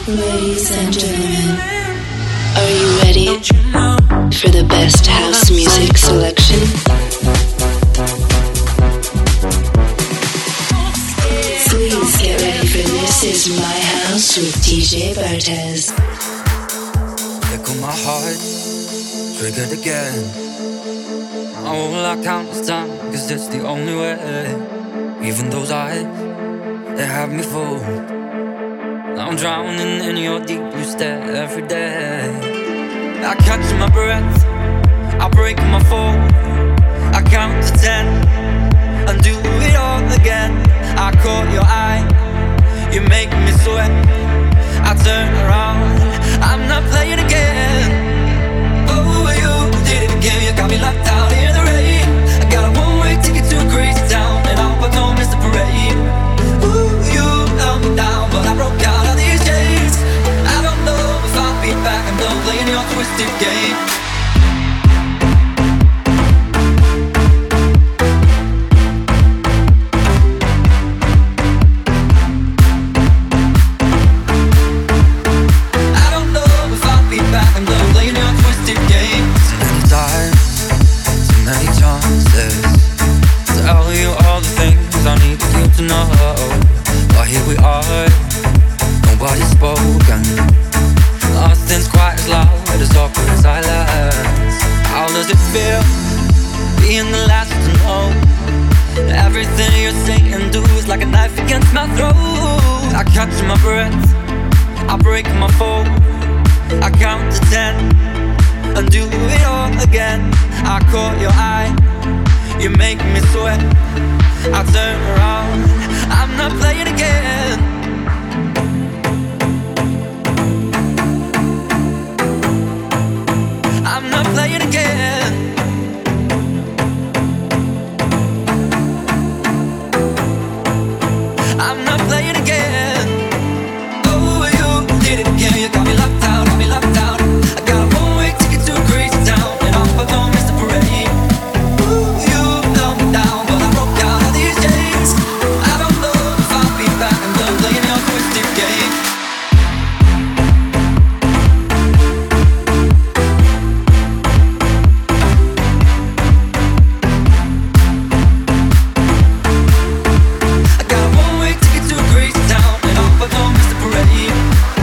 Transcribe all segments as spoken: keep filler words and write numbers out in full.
Ladies and gentlemen, are you ready for the best house music selection? Please get ready for This Is My House with D J Bartez. Echo my heart, triggered again. Oh, well, I count this time, cause it's the only way. Even those eyes, they have me fooled. I'm drowning in your deep blue stare every day. I catch my breath, I break my fall. I count to ten and do it all again. I caught your eye, you make me sweat. I turn around, I'm not playing again. Oh, you did it again, you got me locked out in the rain. I got a one-way ticket to a crazy town, and I hope I don't miss the parade. Ooh, you held me down, but I broke out of these chains. I don't know if I'll be back, I'm done playing your twisted game. Catch my breath, I break my fall. I count to ten and do it all again. I caught your eye, you make me sweat. I turn around, I'm not playing again. I'm not playing again. I'm not playing again. Yeah, you got me locked out, got me locked out. I got a one-way ticket to a crazy town, and I hope I don't miss the parade. Ooh, you held me down, but I broke out of these chains. I don't know if I'll be back, I'm done playing your twisted game. I got a one-way ticket to a crazy town, and I hope I don't miss the parade.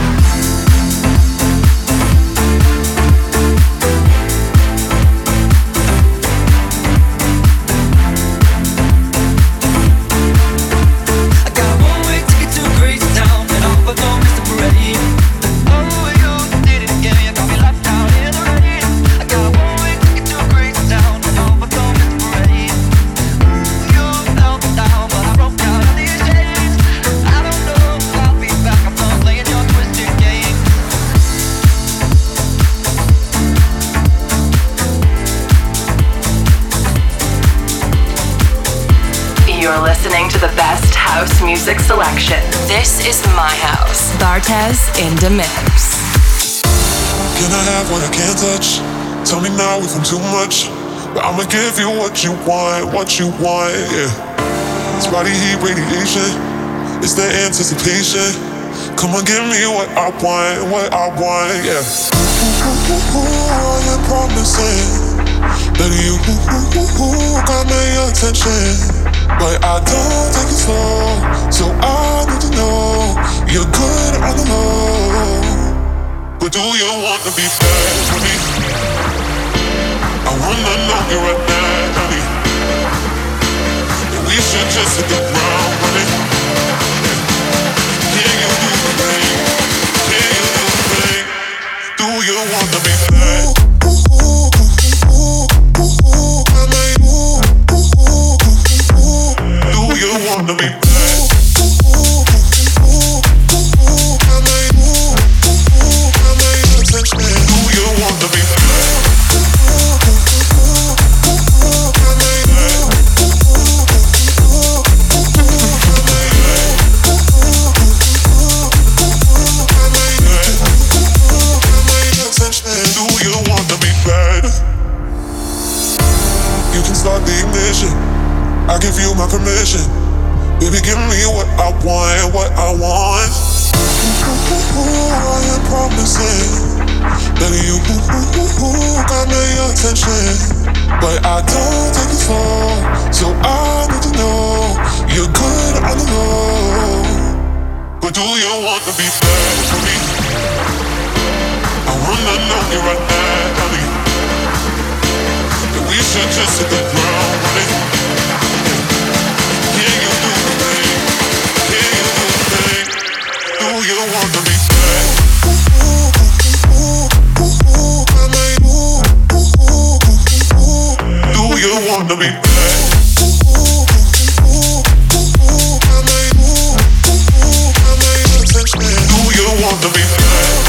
Music selection. This is my house. Bartez in the mix. Can I have what I can't touch? Tell me now if I'm too much, but I'ma give you what you want, what you want, yeah. It's body heat radiation, it's the anticipation. Come on, give me what I want, what I want, yeah. Ooh, ooh, ooh, ooh, all you're promising, that you ooh, ooh, ooh, got my attention. But I don't take it slow, so I need to know you're good on the low. But do you want to be bad with me? I wanna know you right now, honey. And we should just hit the ground running. Can you do the thing? Can you do the thing? Do you want to be bad? Ooh, ooh, ooh, ooh, ooh, ooh, I mean, ooh. Do you wanna be bad? Ooh, ooh, ooh, ooh, ooh, I mean, ooh, ooh, ooh, I mean, attention. Do you wanna be bad? Ooh, ooh, ooh, ooh, ooh, I mean, ooh, ooh, ooh, ooh, I mean, ooh, ooh, ooh, I mean, ooh, I mean, attention. Do you wanna be bad? You can start the ignition. I give you my permission. Baby, give me what I want, what I want. Ooh, ooh, ooh, ooh, listen. Baby, you got my attention. But I don't take it slow, so I need to know you're good on the low. But do you want to be bad for me? I wanna know you right now, honey. And we should just hit the ground running. Can you do the thing? Can you do the thing? Do you want to be bad? Do you wanna be bad? Do you wanna be bad?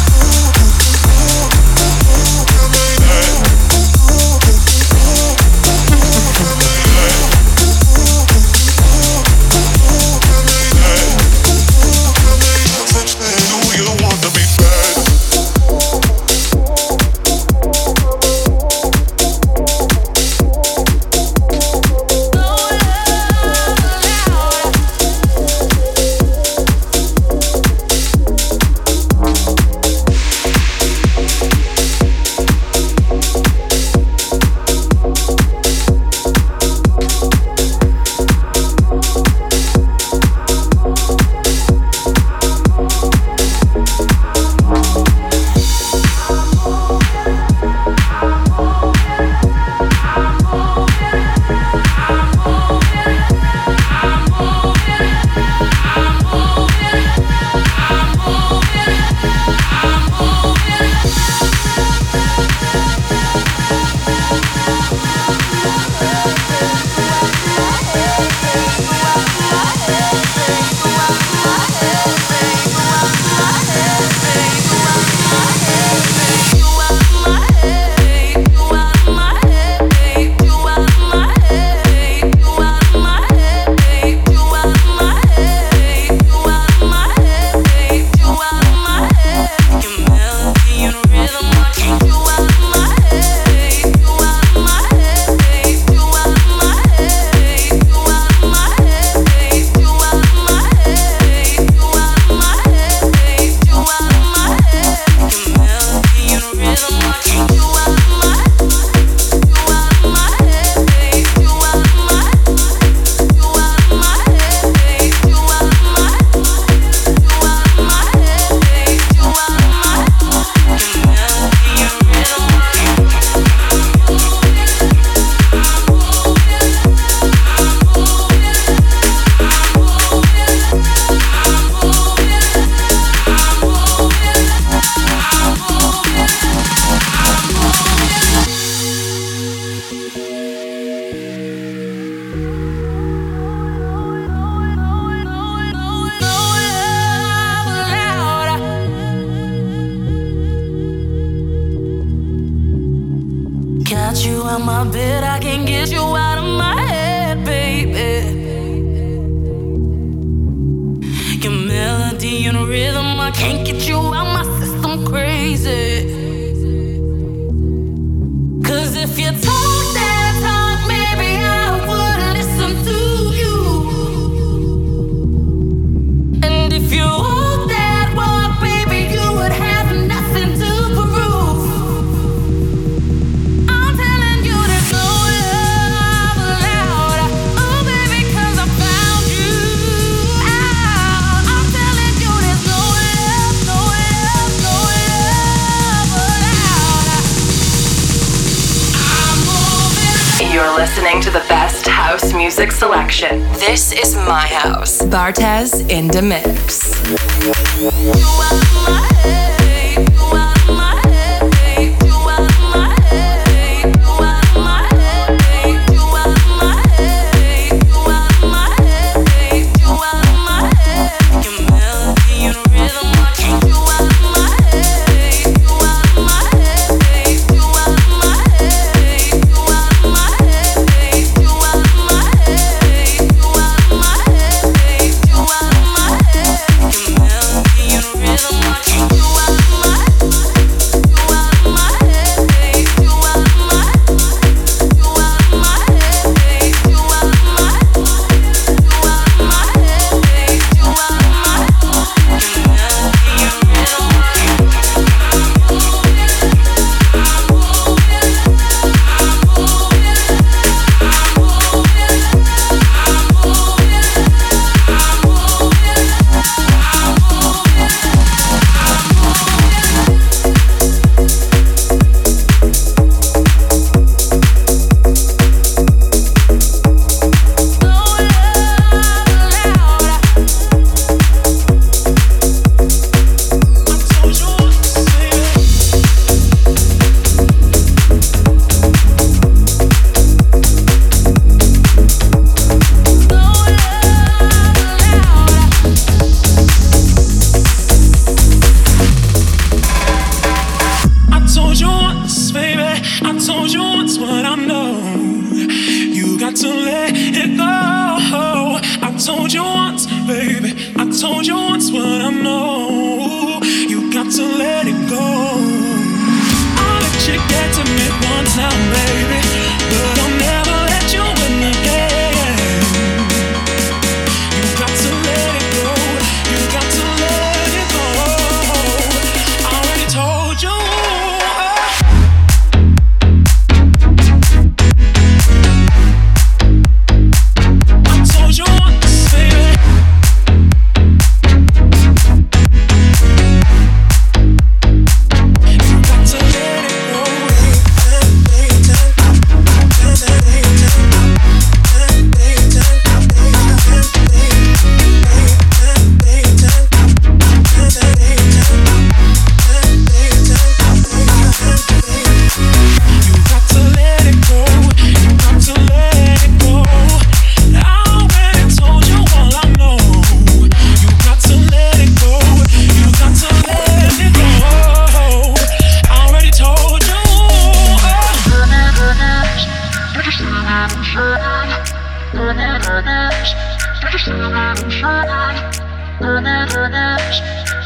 Listening to the best house music selection. This is my house. Bartez in the mix. You out of my head, you out of my head, you out of my head, you out of my head, you out of my head, you out of my head, you out of my head. Your melody and rhythm, I can't. You out of my head, you out of my head, you out of my head, you out of my head. You out of my head, you out of my head, you out of my head. Your melody and rhythm, I can't. You out of my head, you out of my head, you out of my head, you out of my head, you out of my head, you out of my head, you out of my head. Your melody and rhythm, I can't.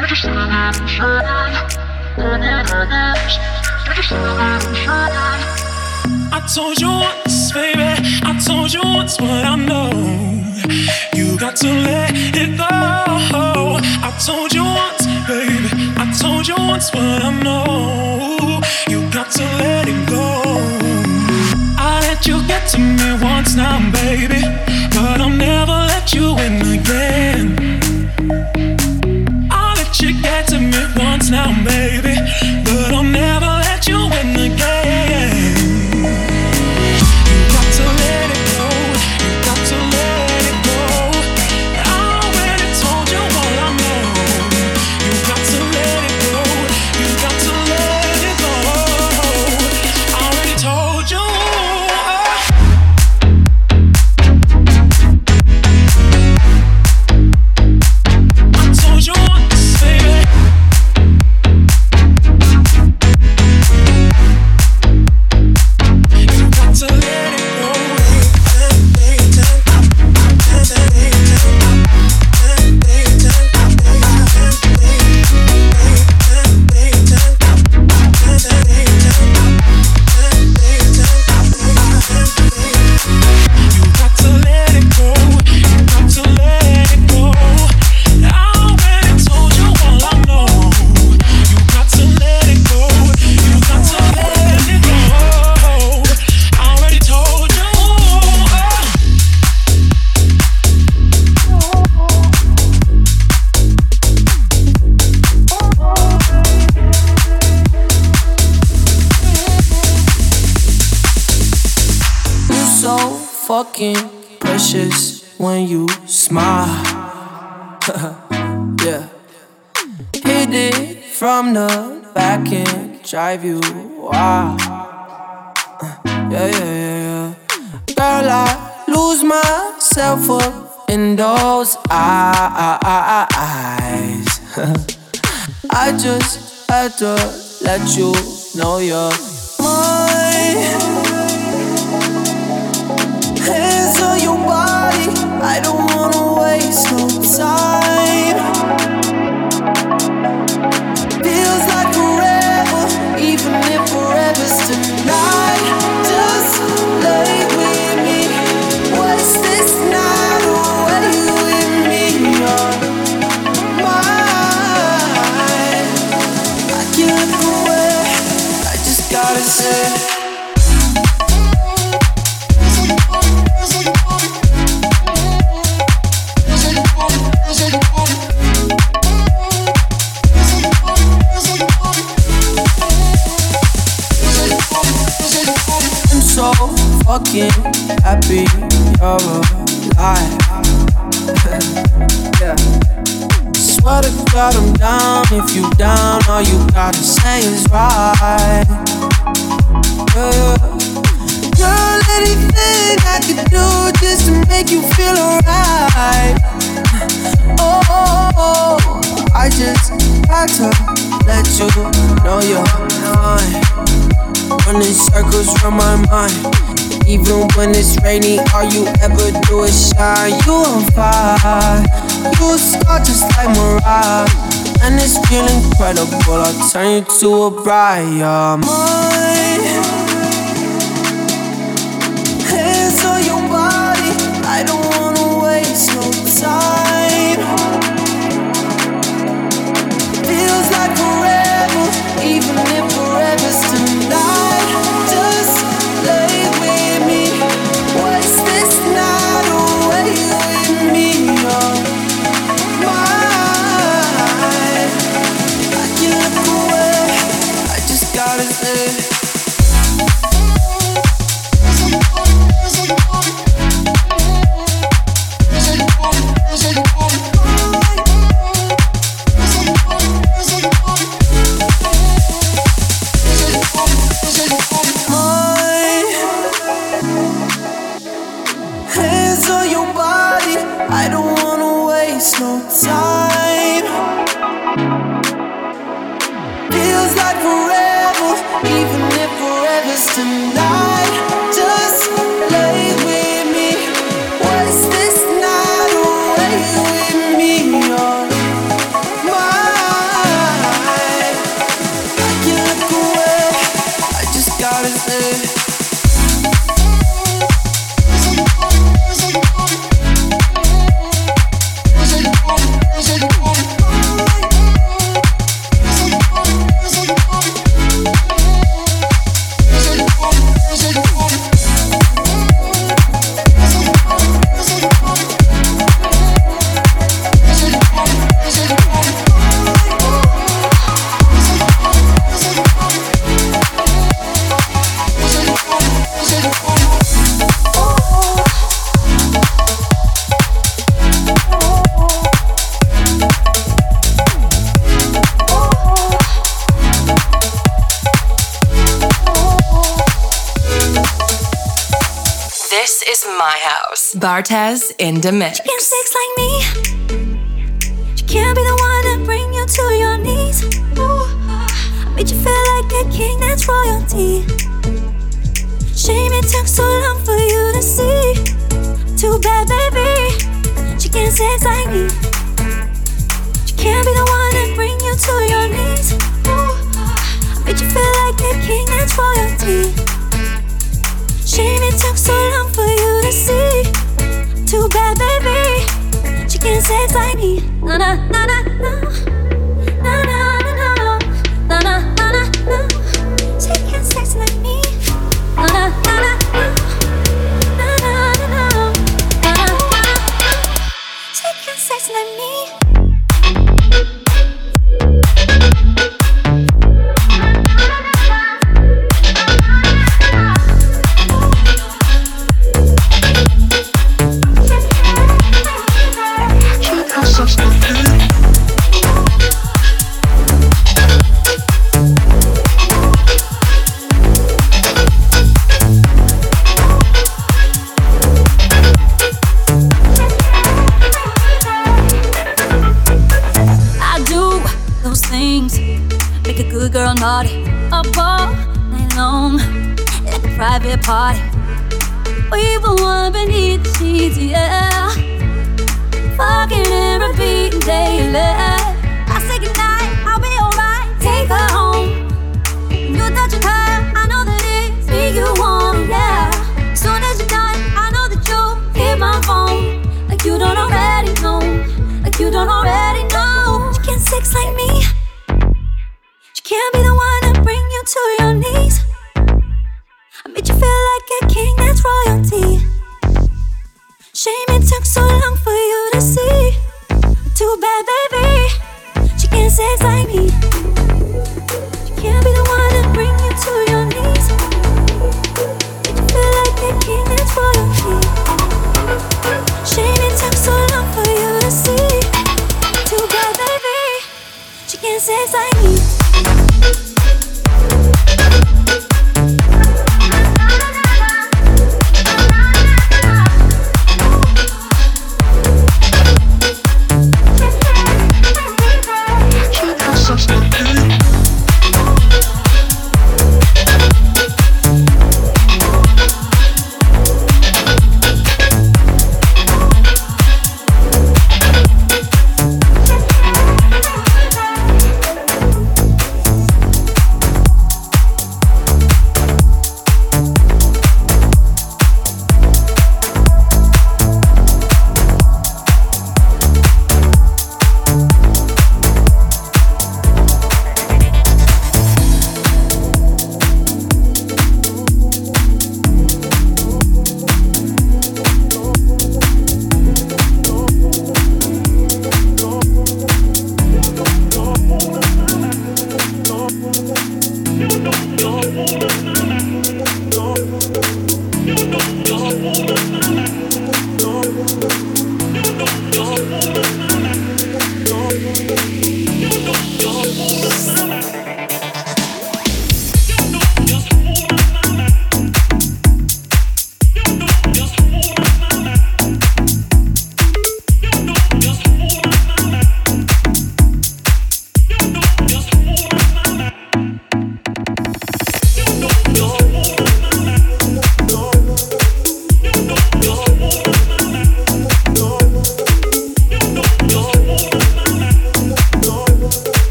I told you once, baby, I told you once what I know. You got to let it go. I told you once, baby, I told you once what I know. You got to let it go. I let you get to me once now, baby, but I'll never let you in again. I'll let you get to me once now, baby, but I'll never let you in again. You got to let it go. You got to let it go. I already told you all I know. You got to let it go. You got to let it go. I already told you. Fucking precious when you smile. Yeah. Hit it from the back and drive you wild. Yeah, yeah, yeah, yeah. Girl, I lose myself up in those eyes. I just had to let you know you're mine. Hands on your body, I don't wanna waste no time. Feels like forever, even if forever's tonight. Just lay with me, waste this night away with me. You're mine. I can't look away, I just gotta say. Fucking happy you're alive. Yeah. Swear to God I'm down. If you down, all you gotta say is right. Yeah. Girl, anything I could do just to make you feel alright. Oh, oh, oh, I just had to let you know you're mine. Running circles from my mind. Even when it's rainy, all you ever do is shine. You on fire, you a star just like Mariah. And it's real incredible, I'll turn you to a bride. You're mine. Hands on your body, I don't wanna waste no time. Feels like forever, even if forever's tonight. Just lay with me, waste this night away with me. You're mine. I can't look away, I just gotta say. Mine. This is my house. Bartez in the mix. She can't sex like me. She can't be the one to bring you to your knees. Ooh, I made you feel like a king, that's royalty. Shame it took so long for you to see. Too bad, baby. She can't sex like me. She can't be the one to bring you to your knees. Ooh, I made you feel like a king, that's royalty. Shame it took so long for you to see. Too bad, baby. She can't sex like me. Na na na na na. Na na na na. Na na na na na. She can't sex like me. Na na na na na. Na na na na. Na na na na. She can't sex like me. Girl naughty up all night long like a private party. We were one beneath the sheets, yeah. Fucking and repeating daily. I say goodnight, I'll be alright. Take her home. When you're touching her, I know that it's me you want, yeah. Soon as you're done, I know that you'll hit my phone. Like you don't already know. Like you don't already know. You can't sex like me. Can't be the one to bring you to your knees. I made you feel like a king, that's royalty. Shame it took so long for you to see. Too bad, baby. She can't sex like me. She can't be the one to bring you to your knees. Made you feel like a king, that's royalty. Shame it took so long for you to see. Too bad, baby. She can't sex like me.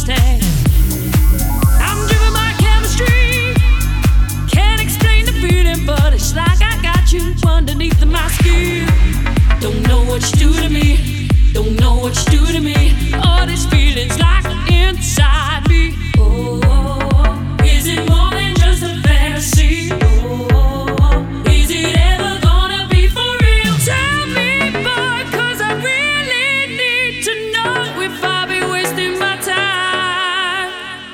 understand. I'm driven by chemistry. Can't explain the feeling, but it's like I got you underneath my skin. Don't know what you do to me. Don't know what you do to me. All these feelings like inside me. Oh, is it more than just a fantasy? Oh, is it ever gonna be for real? Tell me, boy, 'cause I really need to know if I'll be wasting my time.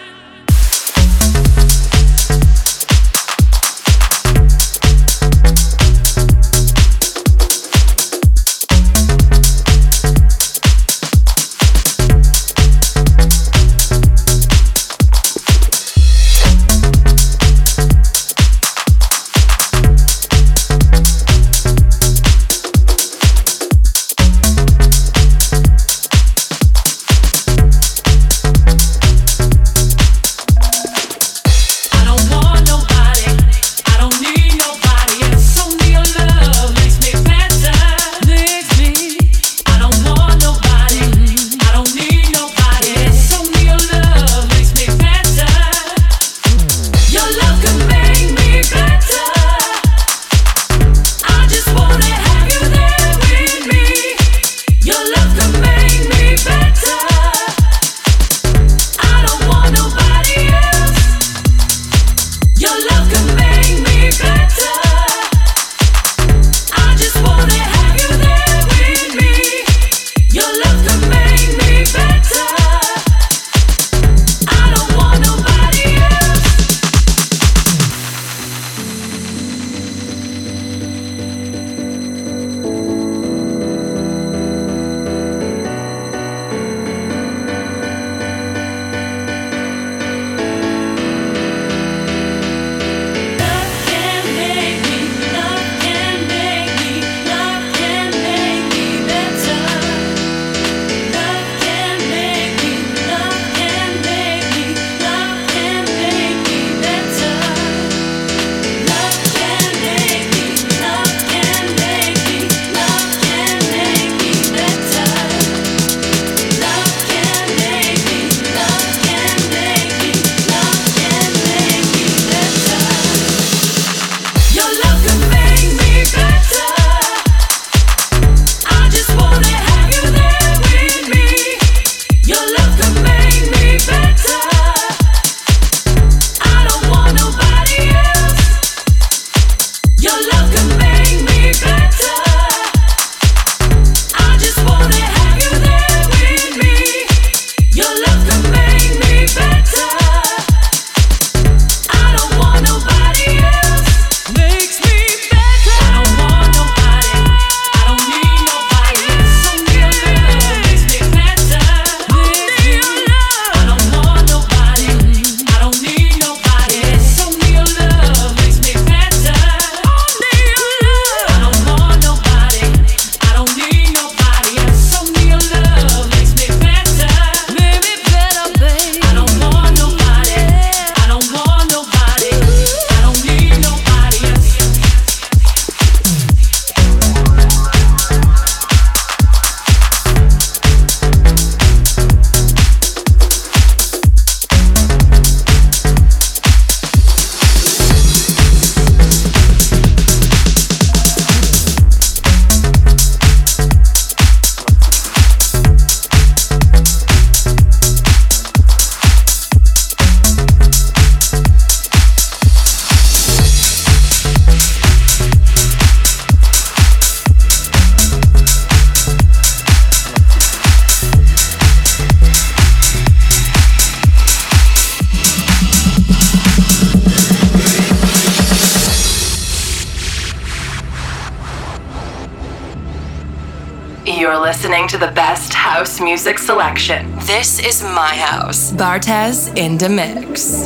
You're listening to the best house music selection. This is my house. Bartez in the mix.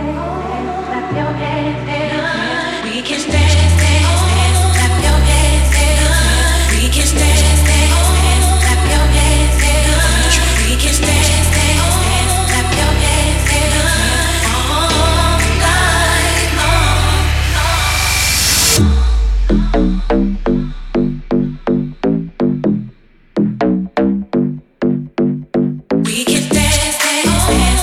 We can dance, dance, clap your hands, dance. We can dance, dance, clap your hands, dance. We can dance, dance, clap your hands, dance. All night long. We can dance, dance, dance.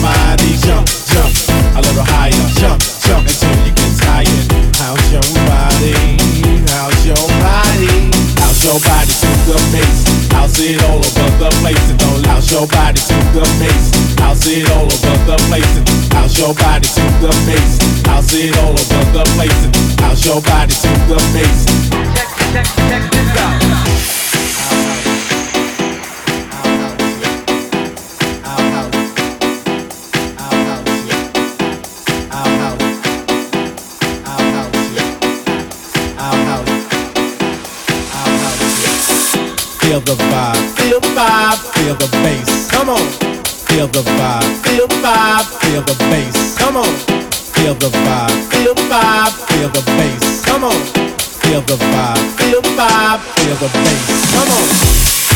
body jump, jump a little higher, jump, jump until you get tired. How's your body? How's your body? How's your body to the bass? House it all over the place and don't louse your body to the bass. House it all over the place and house your body to the bass. House it all over the place and house your body to the bass. Check, check, check this out. Feel the vibe, feel the vibe, feel the bass. Come on. Feel the vibe, feel the vibe, feel the bass. Come on. Feel the vibe, feel the vibe, feel the bass. Come on. Feel the vibe, feel the vibe, feel the bass. Come on.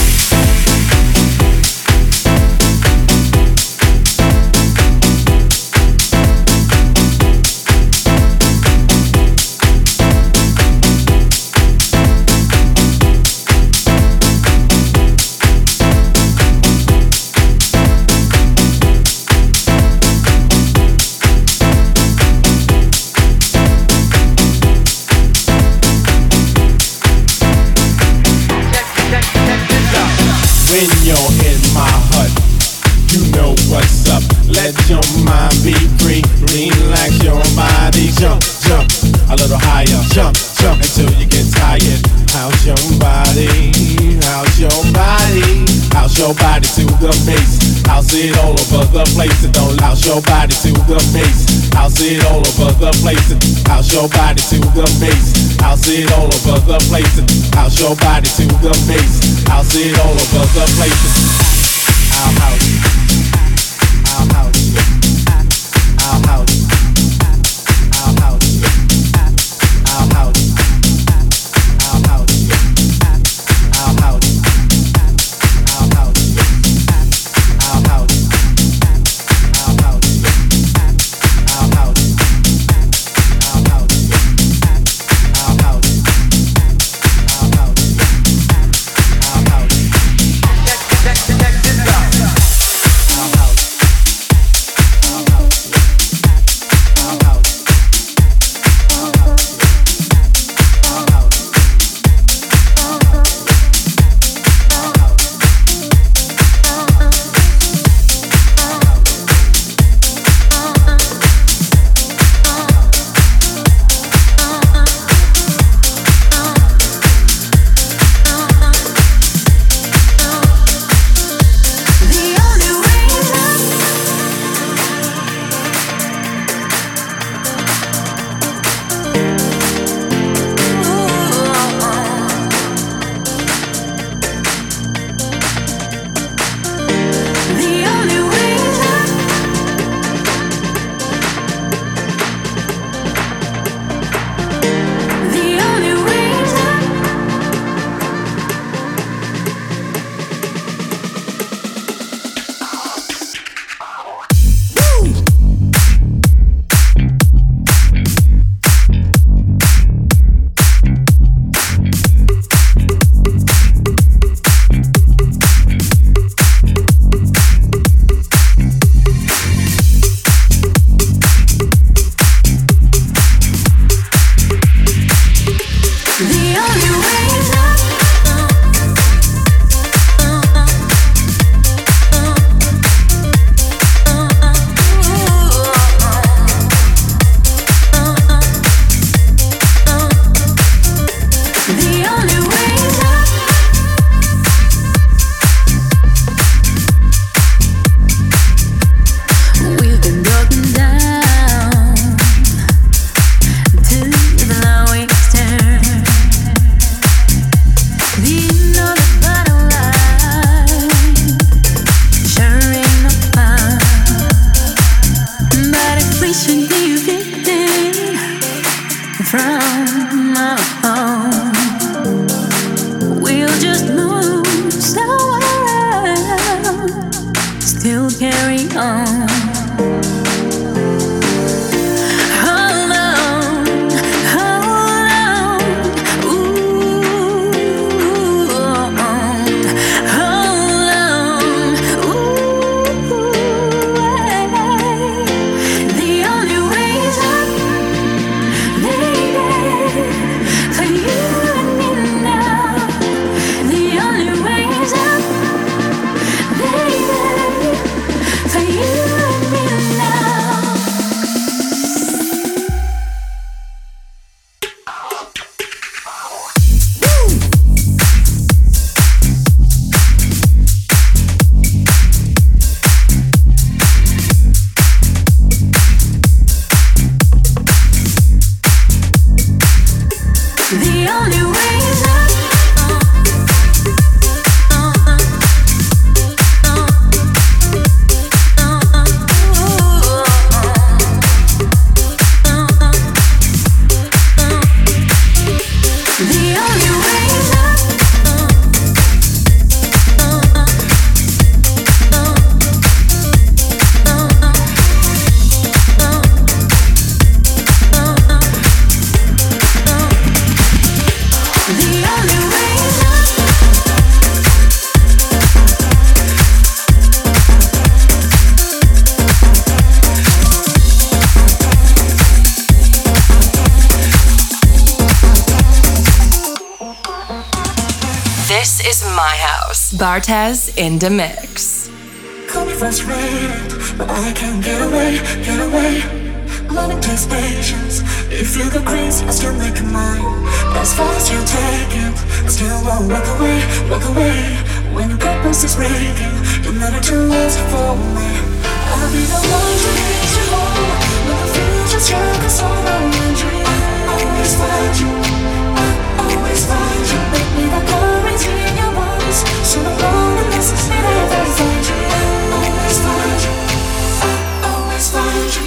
When you're in my hut, you know what's up. Let your mind be free. Relax your body. Jump, jump a little higher. Jump, jump until you get tired. How's your body? How's your body? How's your body to the bass? House it all over the place and don't louse your body to the bass. House it all over the place and house your body to the bass. House it all over the place and house your body to the bass. House it all over the place and our house, our house, our house, our house, our house, our house, our house, our house, our house, our house, our house, our house, our house, our house, our house. Check, check, check this out. Our house, our house, our house, our house, our house, our house, Bartez in the mix. Call me frustrated, but I can't get away, get away. Learning takes patience. If you go crazy, I still make it mine. As far as you take it, I still won't walk away, walk away. When your purpose is breaking, you're never too lost for me. I'll be the one to lead you home. When the future's struggles all around you, I'll always find you, I'll always find you. Make me the courage in your bones, so the loneliness is never find you. I'll always find you, I'll always find you.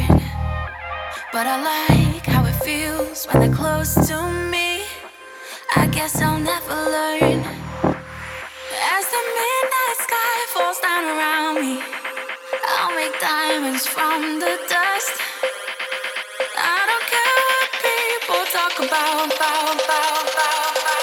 But I like how it feels when they're close to me. I guess I'll never learn. As the midnight sky falls down around me, I'll make diamonds from the dust. I don't care what people talk about, about, about, about, about.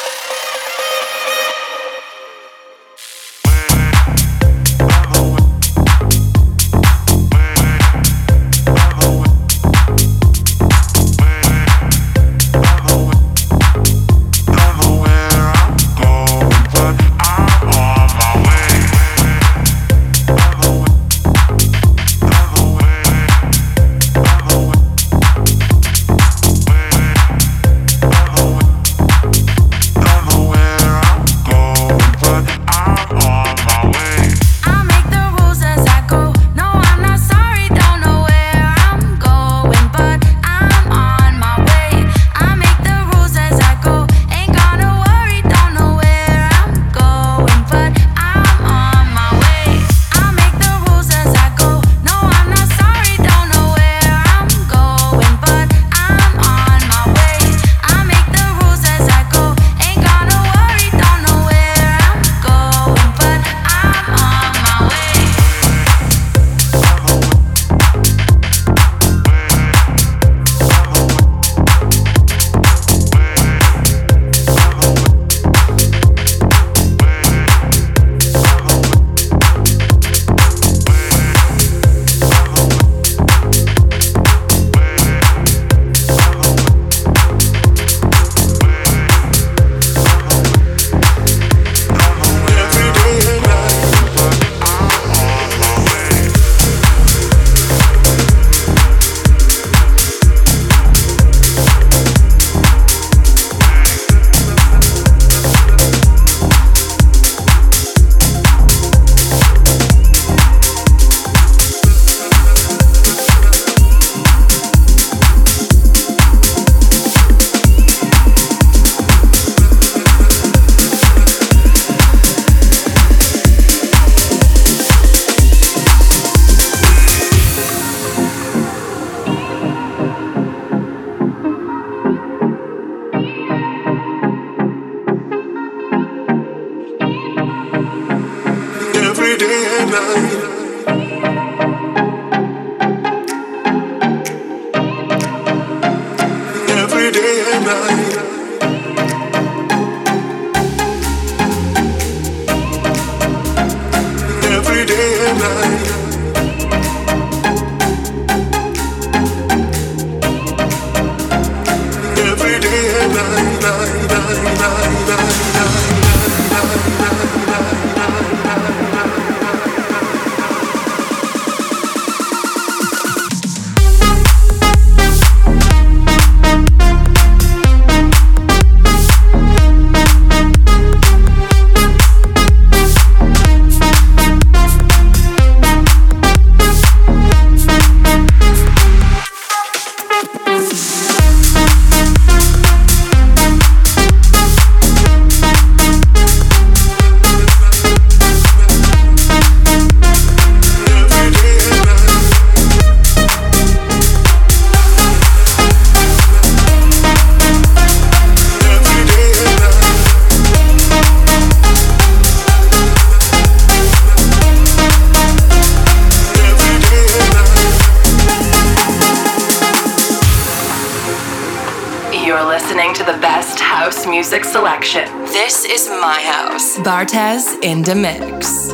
Music selection. This is my house. Bartez in the mix.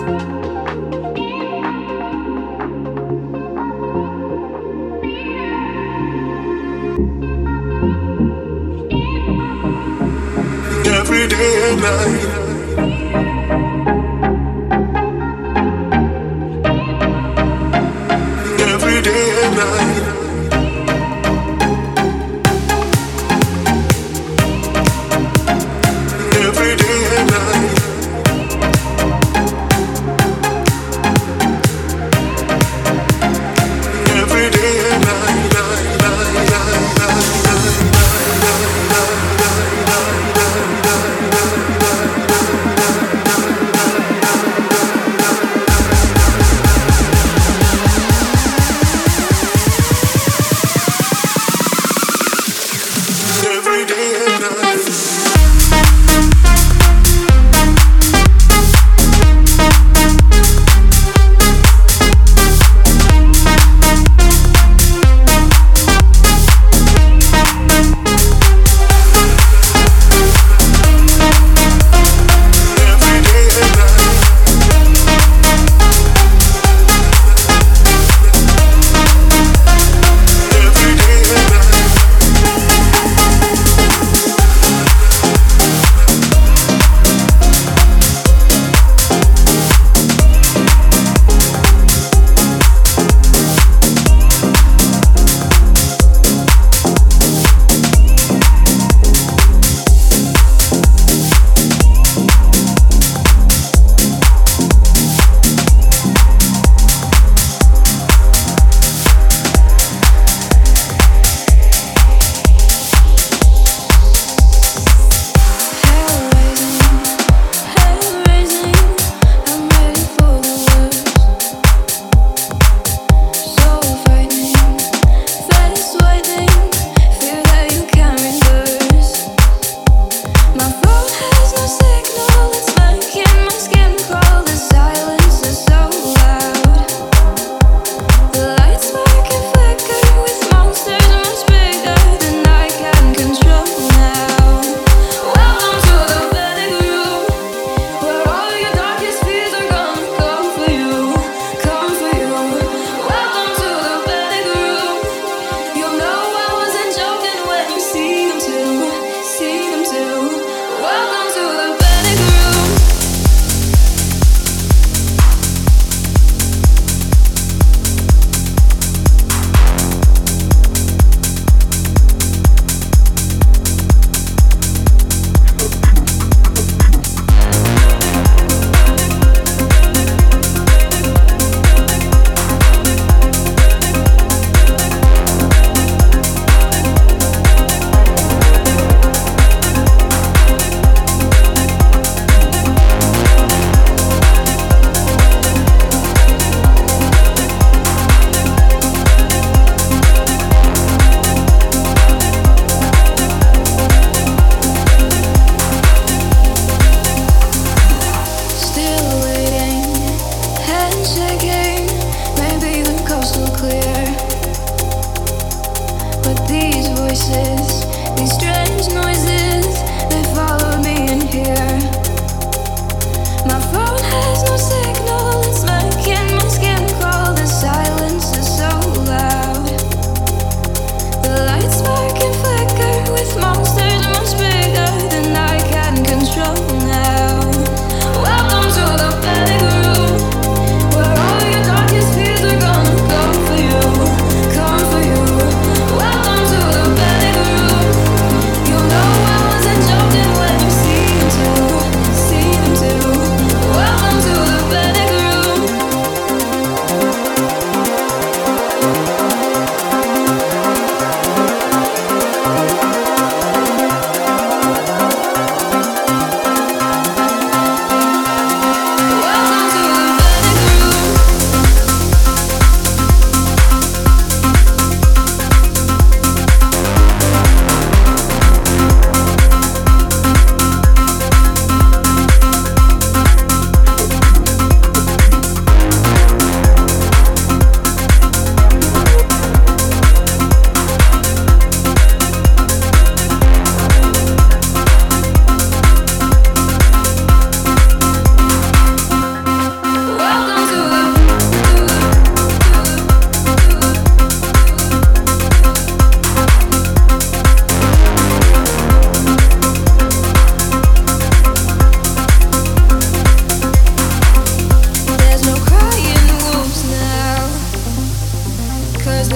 Every day and night. Every day and night. Every day and night. Every day and night, night, night, night, night, night,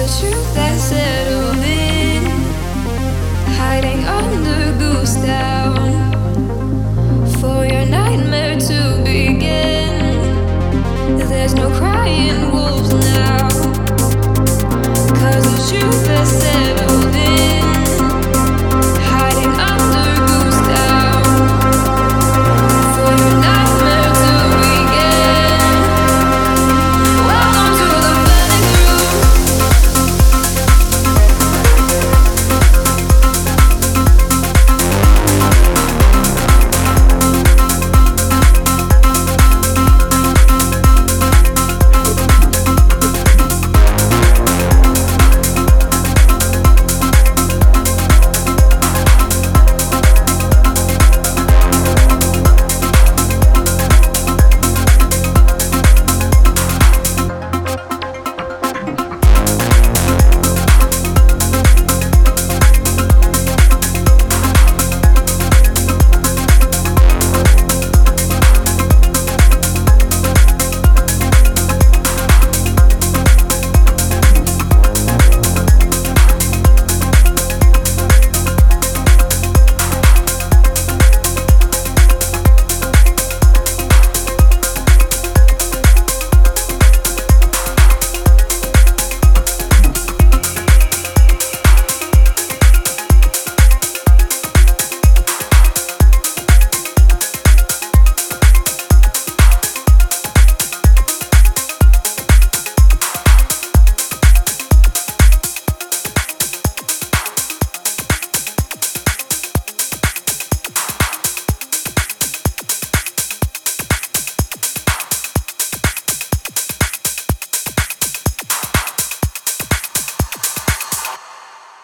the truth that settled in, hiding under goose down.